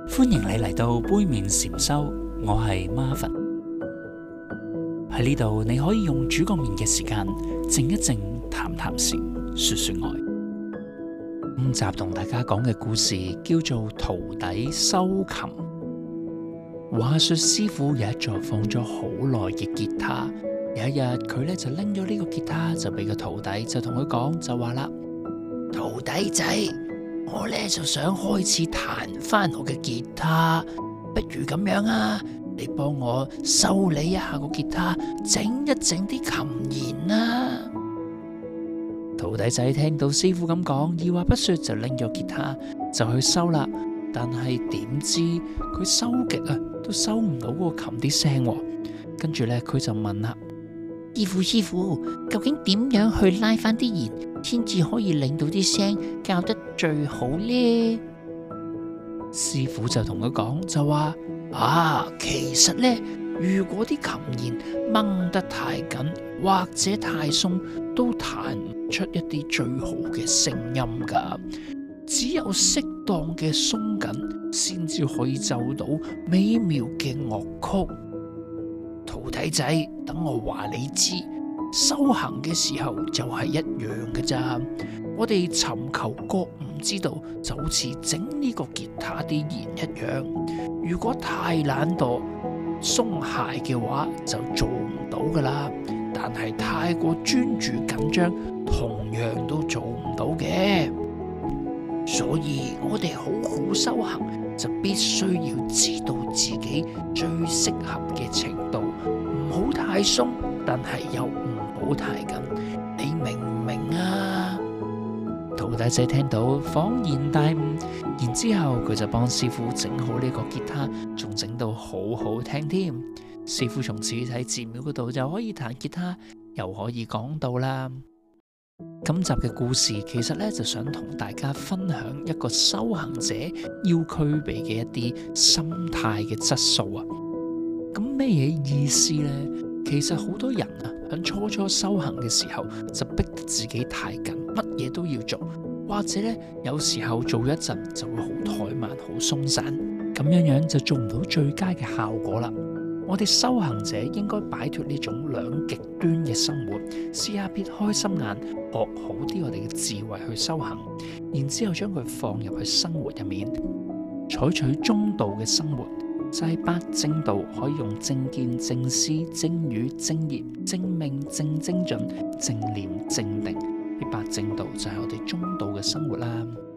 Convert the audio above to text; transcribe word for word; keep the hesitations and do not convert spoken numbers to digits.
歡迎你嚟到杯麵禪修，我係 Marvin。喺呢度你可以用煮個麵嘅時間靜一靜，談談禪，說說愛。今集同大家講嘅故事叫做徒弟修琴。話說師傅有一座放咗好耐嘅吉他，有一日佢咧就拎咗呢個吉他就俾個徒弟，就同佢講就話啦：徒弟仔，我咧就想開始彈翻我嘅吉他，不如咁樣啊，你幫我修理一下個吉他，整一整啲琴弦啦。徒弟仔聽到師傅咁講，二話不說就拎咗吉他就去修啦。但係點知佢修極啊，都收唔到嗰個琴啲聲。跟住咧，佢就問啦：師傅師傅，究竟點樣去拉翻啲弦，先至可以令到啲聲校得最好呢？師傅就同佢講就話：啊，其實呢，如果啲琴弦掹得太緊或者太鬆，都彈唔出一啲最好嘅聲音噶。只有適當嘅鬆緊，先至可以奏到美妙嘅樂曲。徒弟仔，等我話你知，修行嘅時候就係一樣嘅咋。我哋尋求覺悟之道，就好似整呢個吉他啲弦一樣。如果太懶惰、鬆懈嘅話，就做唔到噶啦。但係太過專注緊張，同樣都做唔到嘅。所以我哋好好修行，就必須要知道自己最適合嘅程度，唔好太鬆，但係又唔好太緊。你明唔明啊？徒弟仔聽到恍然大悟，然之後佢就幫師傅整好呢個吉他，仲整到好好聽添。師傅從此喺寺廟嗰度就可以彈吉他，又可以講道啦。今集嘅故事其實咧就想同大家分享一個修行者要具備嘅一啲心態嘅質素啊。咁咩嘢意思呢？其實好多人啊喺初初修行嘅時候就逼得自己太緊，乜嘢都要做，或者咧有時候做一陣就會好怠慢、好鬆散，咁樣樣就做唔到最佳嘅效果啦。我哋修行者應該擺脫呢種兩極端嘅生活，試下撇開心眼，學好啲我哋嘅智慧去修行，然之後將佢放入去生活入面，採取中道嘅生活，就係八正道，可以用正見、正思、正語、正業、正命、正精進、正念、正定，呢八正道就係我哋中道嘅生活啦。